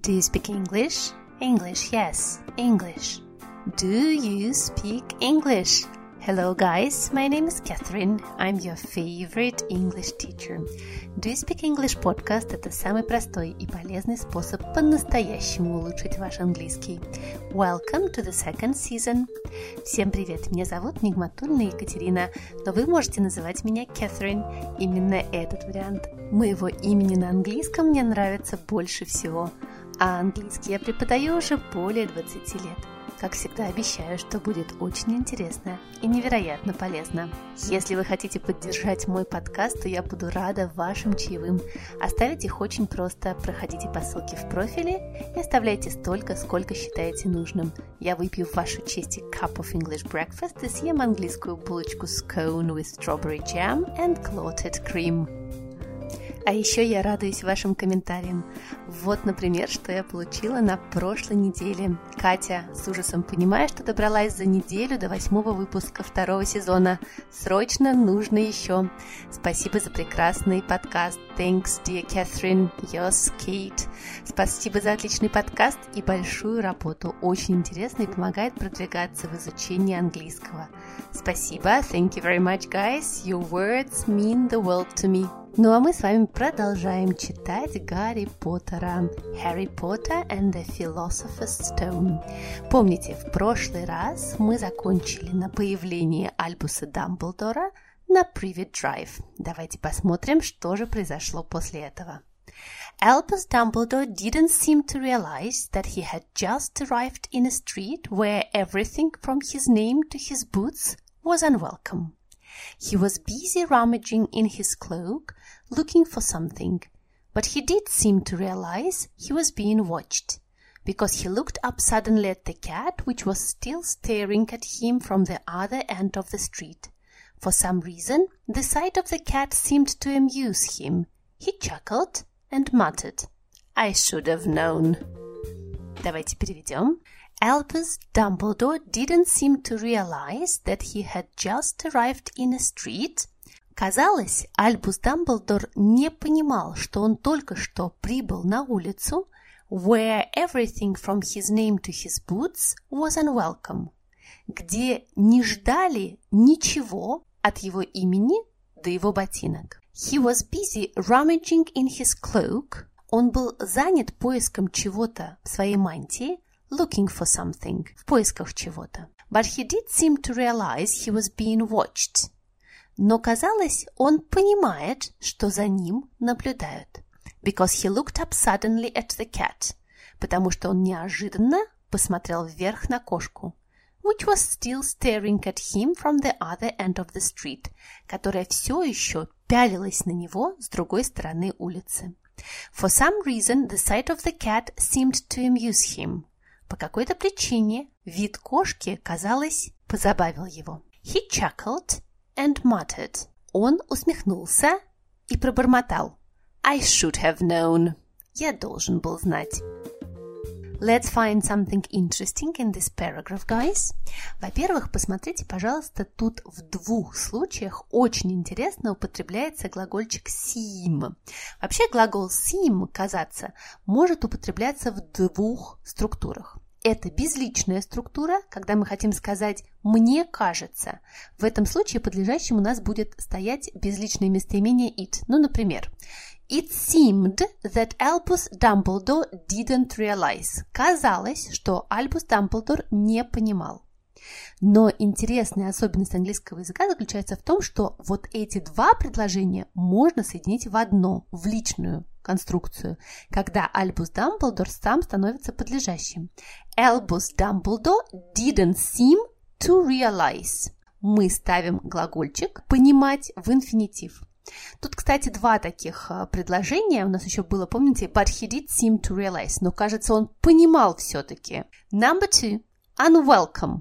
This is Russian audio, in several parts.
Do you speak English? English, yes, English. Do you speak English? Hello guys, my name is Catherine. I'm your favorite English teacher. Do you speak English podcast – это самый простой и полезный способ по-настоящему улучшить ваш английский. Welcome to the second season. Всем привет, меня зовут Нигматульна Екатерина, но вы можете называть меня Catherine. Именно этот вариант моего имени на английском мне нравится больше всего. А английский я преподаю уже более 20 лет. Как всегда, обещаю, что будет очень интересно и невероятно полезно. Если вы хотите поддержать мой подкаст, то я буду рада вашим чаевым. Оставить их очень просто. Проходите по ссылке в профиле и оставляйте столько, сколько считаете нужным. Я выпью в вашу честь cup of English breakfast и съем английскую булочку scone with strawberry jam and clotted cream. А еще я радуюсь вашим комментариям. Вот, например, что я получила на прошлой неделе. Катя с ужасом понимая, что добралась за неделю до 8-го выпуска 2-го сезона. Срочно нужно еще. Спасибо за прекрасный подкаст. Thanks, dear Catherine. Yours, Kate. Спасибо за отличный подкаст и большую работу. Очень интересно и помогает продвигаться в изучении английского. Спасибо. Thank you very much, guys. Your words mean the world to me. Ну а мы с вами продолжаем читать Гарри Поттера. Harry Potter and the Philosopher's Stone. Помните, в прошлый раз мы закончили на появлении Альбуса Дамблдора на Privet Drive. Давайте посмотрим, что же произошло после этого. Albus Dumbledore didn't seem to realize that he had just arrived in a street where everything from his name to his boots was unwelcome. He was busy rummaging in his cloak, looking for something, but he did seem to realize he was being watched, because he looked up suddenly at the cat, which was still staring at him from the other end of the street. For some reason, the sight of the cat seemed to amuse him. He chuckled and muttered, "I should have known." Давайте переведем. Albus Dumbledore didn't seem to realize that he had just arrived in a street. Казалось, Альбус Дамблдор не понимал, что он только что прибыл на улицу, where everything from his name to his boots was unwelcome, где не ждали ничего от его имени до его ботинок. He was busy rummaging in his cloak. Он был занят поиском чего-то в своей мантии, looking for something, в поисках чего-то. But he did seem to realize he was being watched. Но казалось, он понимает, что за ним наблюдают. Because he looked up suddenly at the cat. Потому что он неожиданно посмотрел вверх на кошку, which was still staring at him from the other end of the street, которая все еще пялилась на него с другой стороны улицы. For some reason, the sight of the cat seemed to amuse him. По какой-то причине вид кошки, казалось, позабавил его. He chuckled and muttered. Он усмехнулся и пробормотал. I should have known. Я должен был знать. Let's find something interesting in this paragraph, guys. Во-первых, посмотрите, пожалуйста, тут в двух случаях очень интересно употребляется глагольчик seem. Вообще глагол seem, казаться, может употребляться в двух структурах. Это безличная структура, когда мы хотим сказать «мне кажется». В этом случае подлежащим у нас будет стоять безличное местоимение it. Ну, например, It seemed that Albus Dumbledore didn't realize. Казалось, что Альбус Дамблдор не понимал. Но интересная особенность английского языка заключается в том, что вот эти два предложения можно соединить в одно, в личную конструкцию, когда Альбус Дамблдор сам становится подлежащим. Albus Dumbledore didn't seem to realize. Мы ставим глагольчик «понимать» в инфинитив. Тут, кстати, два таких предложения. У нас еще было, помните, but he did seem to realize. Но, кажется, он понимал все-таки. Number 2. Unwelcome.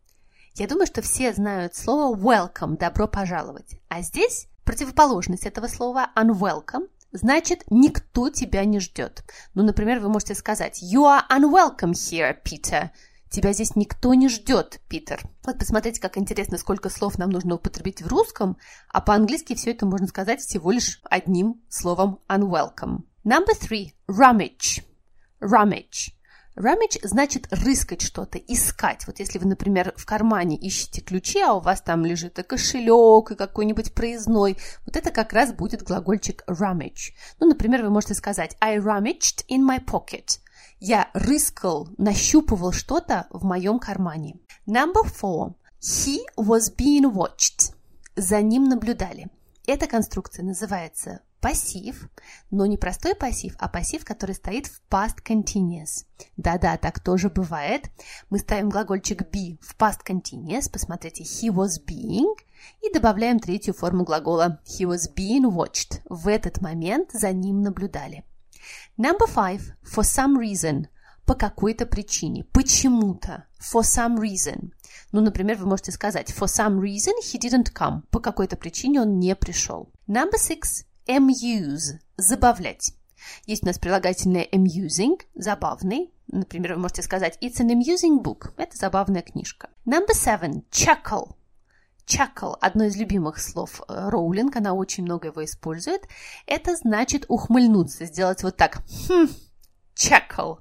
Я думаю, что все знают слово welcome, добро пожаловать. А здесь противоположность этого слова unwelcome значит никто тебя не ждет. Ну, например, вы можете сказать You are unwelcome here, Peter. Тебя здесь никто не ждет, Питер. Вот посмотрите, как интересно, сколько слов нам нужно употребить в русском, а по-английски все это можно сказать всего лишь одним словом unwelcome. Number 3. Rummage. rummage. Rummage значит рыскать что-то, искать. Вот если вы, например, в кармане ищете ключи, а у вас там лежит и кошелек, и какой-нибудь проездной, вот это как раз будет глагольчик rummage. Ну, например, вы можете сказать I rummaged in my pocket. Я рыскал, нащупывал что-то в моем кармане. Number 4. He was being watched. За ним наблюдали. Эта конструкция называется пассив, но не простой пассив, а пассив, который стоит в past continuous. Да-да, так тоже бывает. Мы ставим глагольчик be в past continuous, посмотрите, he was being, и добавляем третью форму глагола he was being watched. В этот момент за ним наблюдали. Number 5. For some reason. По какой-то причине, почему-то. For some reason. Ну, например, вы можете сказать for some reason he didn't come. По какой-то причине он не пришел. Number 6. Amuse. Забавлять. Есть у нас прилагательное amusing, забавный. Например, вы можете сказать it's an amusing book. Это забавная книжка. Number 7. Chuckle. Chuckle – одно из любимых слов Роулинг, она очень много его использует. Это значит ухмыльнуться, сделать вот так. Chuckle.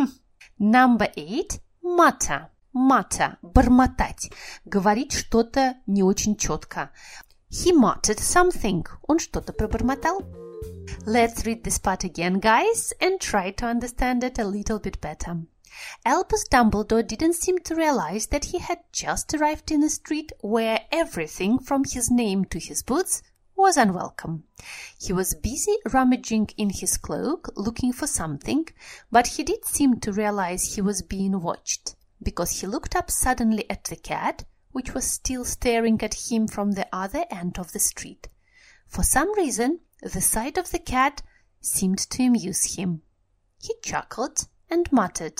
Number 8. Mutter. Mutter – бормотать, говорить что-то не очень четко. He muttered something. Он что-то пробормотал. Let's read this part again, guys, and try to understand it a little bit better. Albus Dumbledore didn't seem to realize that he had just arrived in a street where everything from his name to his boots was unwelcome. He was busy rummaging in his cloak, looking for something, but he did seem to realize he was being watched, because he looked up suddenly at the cat, which was still staring at him from the other end of the street. For some reason, the sight of the cat seemed to amuse him. He chuckled and muttered,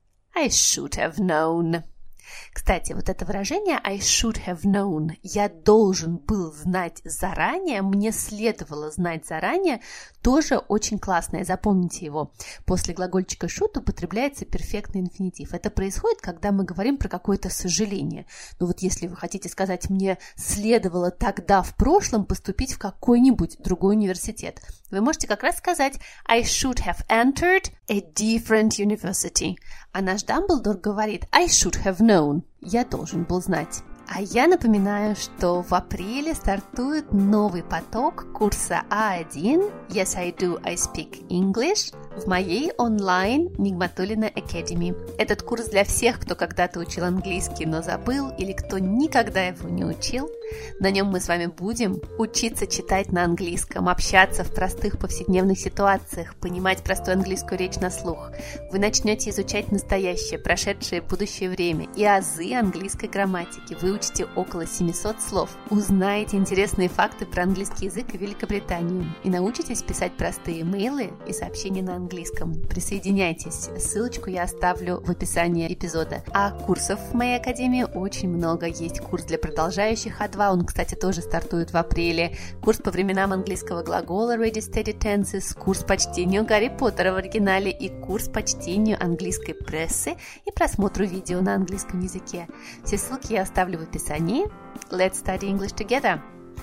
I should have known. Кстати, вот это выражение I should have known, я должен был знать заранее, мне следовало знать заранее, тоже очень классное, запомните его. После глагольчика should употребляется перфектный инфинитив. Это происходит, когда мы говорим про какое-то сожаление. Ну вот если вы хотите сказать, мне следовало тогда в прошлом поступить в какой-нибудь другой университет, вы можете как раз сказать I should have entered a different university. А наш Дамблдор говорит I should have known. Я должен был знать. А я напоминаю, что в апреле стартует новый поток курса А1 Yes, I do, I speak English в моей онлайн Нигматуллина Academy. Этот курс для всех, кто когда-то учил английский, но забыл, или кто никогда его не учил. На нем мы с вами будем учиться читать на английском, общаться в простых повседневных ситуациях, понимать простую английскую речь на слух. Вы начнете изучать настоящее, прошедшее и будущее время и азы английской грамматики. Выучите около 700 слов, узнаете интересные факты про английский язык и Великобританию и научитесь писать простые имейлы и сообщения на английском. Присоединяйтесь, ссылочку я оставлю в описании эпизода. А курсов в моей академии очень много. Есть курс для продолжающих А2, он, кстати, тоже стартует в апреле. Курс по временам английского глагола Ready Steady Tenses, курс по чтению Гарри Поттера в оригинале и курс по чтению английской прессы и просмотру видео на английском языке. Все ссылки я оставлю в описании. Let's study English together.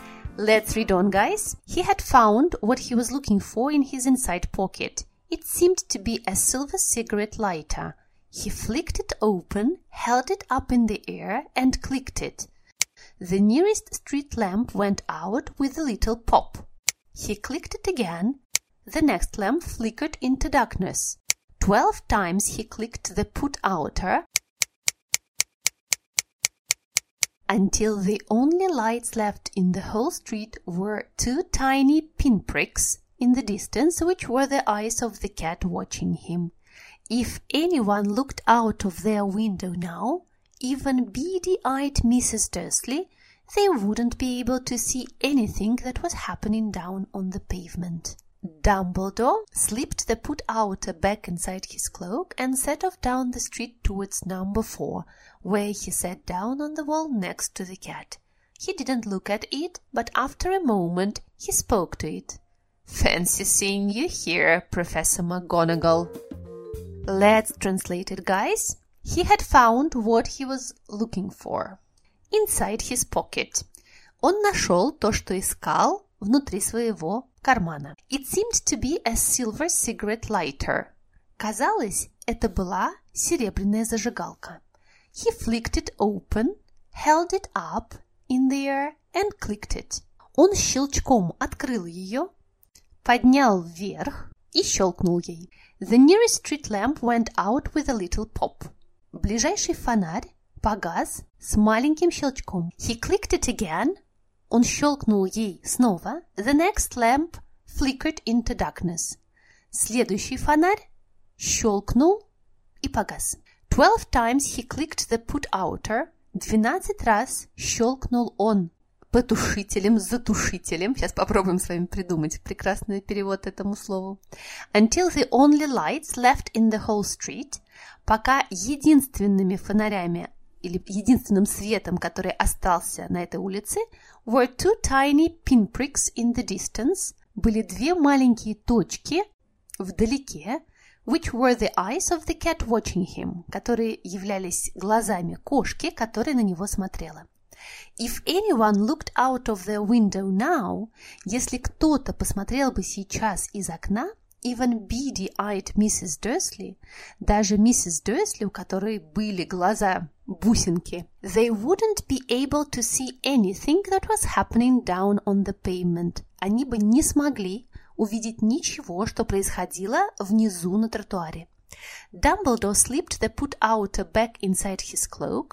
Let's read on, guys. He had found what he was looking for in his inside pocket. It seemed to be a silver cigarette lighter. He flicked it open, held it up in the air, and clicked it. The nearest street lamp went out with a little pop. He clicked it again. The next lamp flickered into darkness. 12 times he clicked the put-outer until the only lights left in the whole street were 2 tiny pinpricks in the distance, which were the eyes of the cat watching him. If anyone looked out of their window now, even beady-eyed Mrs. Dursley, they wouldn't be able to see anything that was happening down on the pavement. Dumbledore slipped the put-outer back inside his cloak and set off down the street towards number 4, where he sat down on the wall next to the cat. He didn't look at it, but after a moment he spoke to it. Fancy seeing you here, Professor McGonagall. Let's translate it, guys. He had found what he was looking for. Inside his pocket. Он нашел то, что искал внутри своего кармана. It seemed to be a silver cigarette lighter. Казалось, это была серебряная зажигалка. He flicked it open, held it up in the air and clicked it. Он щелчком открыл ее, поднял вверх и щелкнул ей. The nearest street lamp went out with a little pop. Ближайший фонарь погас с маленьким щелчком. He clicked it again. Он щелкнул ей снова. The next lamp flickered into darkness. Следующий фонарь щелкнул и погас. 12 times he clicked the put-outer. 12 раз щелкнул он потушителем, затушителем. Сейчас попробуем с вами придумать прекрасный перевод этому слову. Until the only lights left in the whole street. Пока единственными фонарями или единственным светом, который остался на этой улице, were two tiny pinpricks in the distance. Были две маленькие точки вдалеке, which were the eyes of the cat watching him, которые являлись глазами кошки, которая на него смотрела. If anyone looked out of their window now, если кто-то посмотрел бы сейчас из окна, even beady-eyed Mrs. Dursley, даже миссис Дерсли, у которой были глаза бусинки, they wouldn't be able to see anything that was happening down on the pavement. Они бы не смогли увидеть ничего, что происходило внизу на тротуаре. Dumbledore slipped the put-outer back inside his cloak.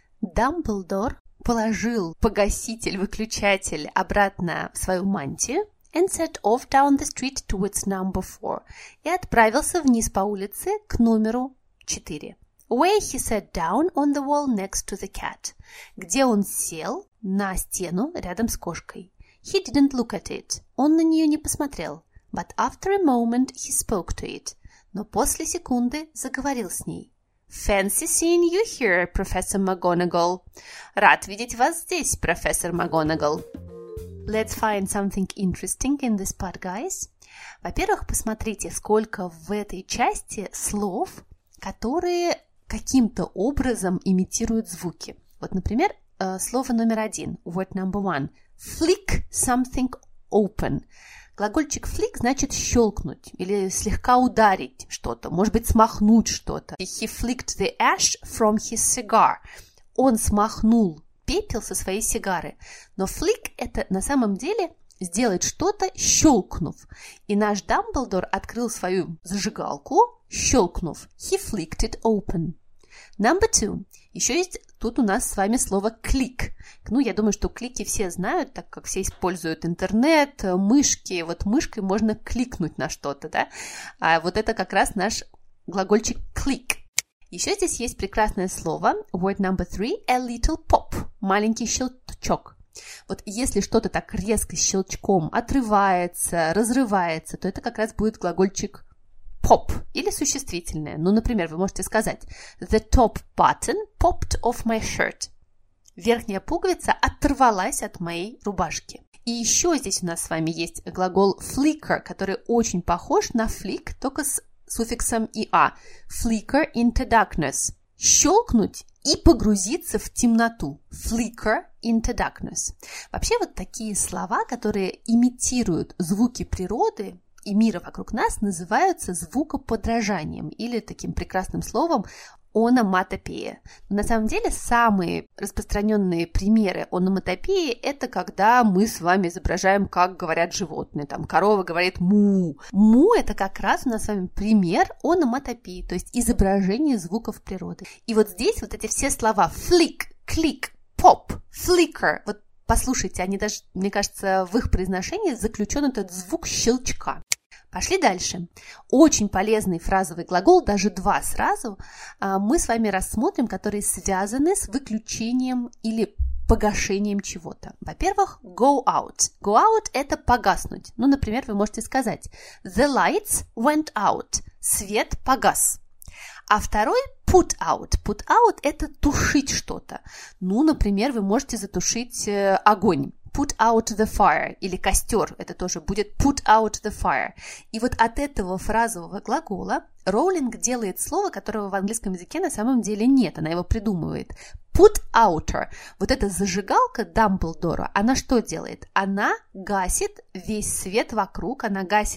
Дамблдор положил погаситель, выключатель обратно в свою мантию and set off down the street towards number 4 и отправился вниз по улице к номеру 4. Where he sat down on the wall next to the cat, где он сел на стену рядом с кошкой. He didn't look at it, он на нее не посмотрел, but after a moment he spoke to it, но после секунды заговорил с ней. Fancy seeing you here, Professor McGonagall. Рад видеть вас здесь, профессор МакГонагал. Let's find something interesting in this part, guys. Во-первых, посмотрите, сколько в этой части слов, которые каким-то образом имитируют звуки. Вот, например, слово номер 1, word number 1. Flick something open. Глагольчик flick значит щелкнуть или слегка ударить что-то, может быть, смахнуть что-то. He flicked the ash from his cigar. Он смахнул пепел со своей сигары. Но flick – это на самом деле сделать что-то, щелкнув. И наш Дамблдор открыл свою зажигалку, щелкнув. He flicked it open. Number 2. Еще есть тут у нас с вами слово click. Ну, я думаю, что клики все знают, так как все используют интернет, мышки. Вот мышкой можно кликнуть на что-то, да? А вот это как раз наш глагольчик click. Еще здесь есть прекрасное слово, word number 3, a little pop, маленький щелчок. Вот если что-то так резко щелчком отрывается, разрывается, то это как раз будет глагольчик pop или существительное. Ну, например, вы можете сказать the top button popped off my shirt. Верхняя пуговица оторвалась от моей рубашки. И еще здесь у нас с вами есть глагол flicker, который очень похож на flick, только с суффиксом «ia». Flicker into darkness. Щелкнуть и погрузиться в темноту. Flicker into darkness. Вообще вот такие слова, которые имитируют звуки природы и мира вокруг нас, называются звукоподражанием или таким прекрасным словом ономатопея. Но на самом деле самые распространенные примеры ономатопеи – это когда мы с вами изображаем, как говорят животные. Там корова говорит «му». «Му» – это как раз у нас с вами пример ономатопеи, то есть изображение звуков природы. И вот здесь вот эти все слова «flick», «click», «pop», «flicker», вот послушайте, они даже, мне кажется, в их произношении заключен этот звук щелчка. Пошли дальше. Очень полезный фразовый глагол, даже два сразу, мы с вами рассмотрим, которые связаны с выключением или погашением чего-то. Во-первых, go out. Go out – это погаснуть. Ну, например, вы можете сказать the lights went out. Свет погас. А второй put out. Put out – это тушить что-то. Ну, например, вы можете затушить огонь. Put out the fire, или костер, это тоже будет put out the fire. И вот от этого фразового глагола Роулинг делает слово, которого в английском языке на самом деле нет, она его придумывает. Put outer. Вот эта зажигалка Дамблдора, она что делает? Она гасит весь свет вокруг, она гасит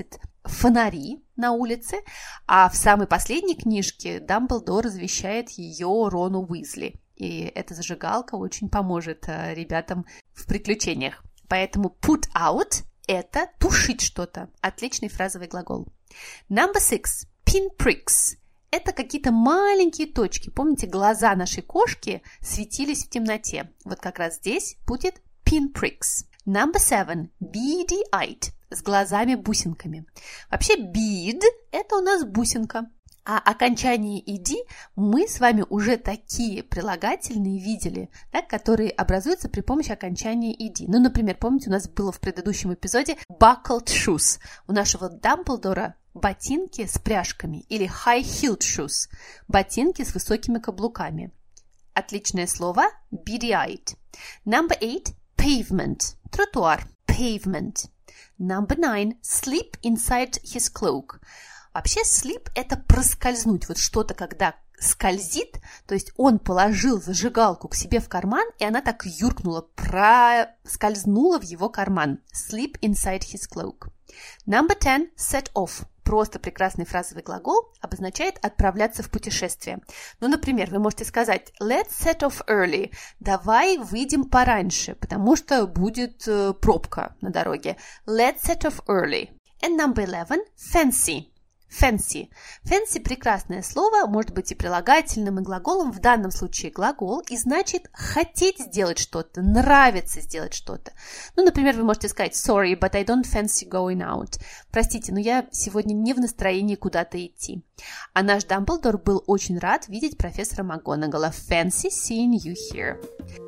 фонари на улице, а в самой последней книжке Дамблдор завещает ее Рону Уизли. И эта зажигалка очень поможет ребятам в приключениях. Поэтому put out – это тушить что-то. Отличный фразовый глагол. Number 6. Pinpricks. Это какие-то маленькие точки. Помните, глаза нашей кошки светились в темноте. Вот как раз здесь будет pinpricks. Number 7. Beady-eyed. С глазами-бусинками. Вообще, bead – это у нас бусинка. А окончание «ed» мы с вами уже такие прилагательные видели, да, которые образуются при помощи окончания «ed». Ну, например, помните, у нас было в предыдущем эпизоде buckled shoes. У нашего Дамблдора ботинки с пряжками или high-heeled shoes – ботинки с высокими каблуками. Отличное слово – beady-eyed. Number 8 – pavement – тротуар, pavement. Number 9 – sleep inside his cloak. Вообще sleep – это проскользнуть, вот что-то, когда скользит, то есть он положил зажигалку к себе в карман, и она так юркнула, проскользнула в его карман. Sleep inside his cloak. Number 10 – set off. Просто прекрасный фразовый глагол обозначает отправляться в путешествие. Ну, например, вы можете сказать let's set off early. Давай выйдем пораньше, потому что будет пробка на дороге. Let's set off early. And number 11 – fancy. Fancy. Fancy – прекрасное слово, может быть и прилагательным, и глаголом. В данном случае глагол, и значит хотеть сделать что-то, нравится сделать что-то. Ну, например, вы можете сказать sorry, but I don't fancy going out. Простите, но я сегодня не в настроении куда-то идти. А наш Дамблдор был очень рад видеть профессора МакГонагала. Fancy seeing you here.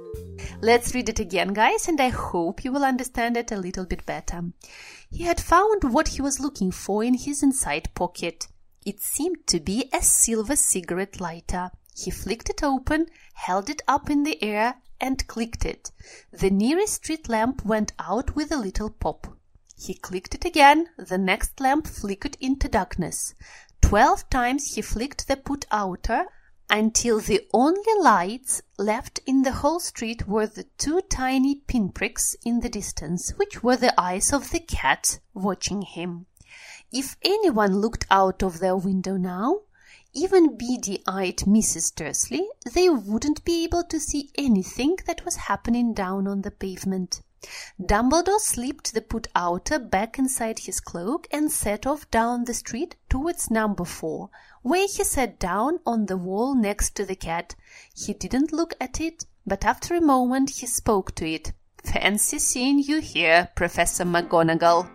Let's read it again, guys, and I hope you will understand it a little bit better. He had found what he was looking for in his inside pocket. It seemed to be a silver cigarette lighter. He flicked it open, held it up in the air, and clicked it. The nearest street lamp went out with a little pop. He clicked it again. The next lamp flickered into darkness. 12 times he flicked the put-outer, until the only lights left in the whole street were the two tiny pinpricks in the distance, which were the eyes of the cat watching him. If anyone looked out of their window now, even beady-eyed Mrs. Dursley, they wouldn't be able to see anything that was happening down on the pavement. Dumbledore slipped the put-outer back inside his cloak and set off down the street towards number 4, where he sat down on the wall next to the cat. He didn't look at it, but after a moment he spoke to it. Fancy seeing you here, Professor McGonagall.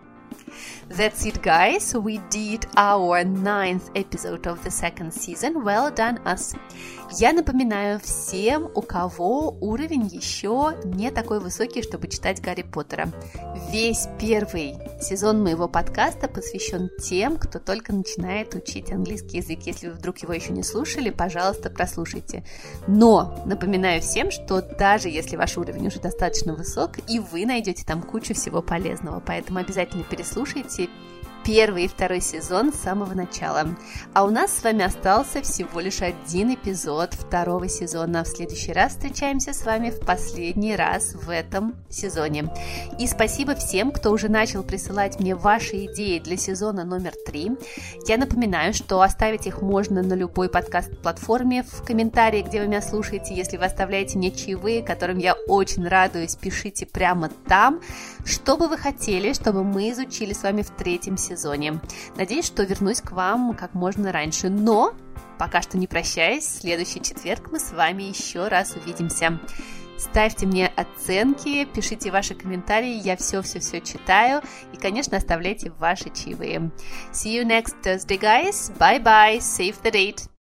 That's it, guys. We did our 9th episode of the second season. Well done, us. Я напоминаю всем, у кого уровень еще не такой высокий, чтобы читать Гарри Поттера. Весь первый сезон моего подкаста посвящен тем, кто только начинает учить английский язык. Если вы вдруг его еще не слушали, пожалуйста, прослушайте. Но напоминаю всем, что даже если ваш уровень уже достаточно высок, и вы найдете там кучу всего полезного, поэтому обязательно переслушайте первый и второй сезон с самого начала. А у нас с вами остался всего лишь один эпизод второго сезона. В следующий раз встречаемся с вами в последний раз в этом сезоне. И спасибо всем, кто уже начал присылать мне ваши идеи для сезона номер 3. Я напоминаю, что оставить их можно на любой подкаст-платформе в комментарии, где вы меня слушаете. Если вы оставляете мне чаевые, которым я очень радуюсь, пишите прямо там, что бы вы хотели, чтобы мы изучили с вами в третьем сезоне. Надеюсь, что вернусь к вам как можно раньше, но пока что не прощаюсь, в следующий четверг мы с вами еще раз увидимся. Ставьте мне оценки, пишите ваши комментарии, я все-все-все читаю и, конечно, оставляйте ваши чаевые. See you next Thursday, guys. Bye-bye. Save the date.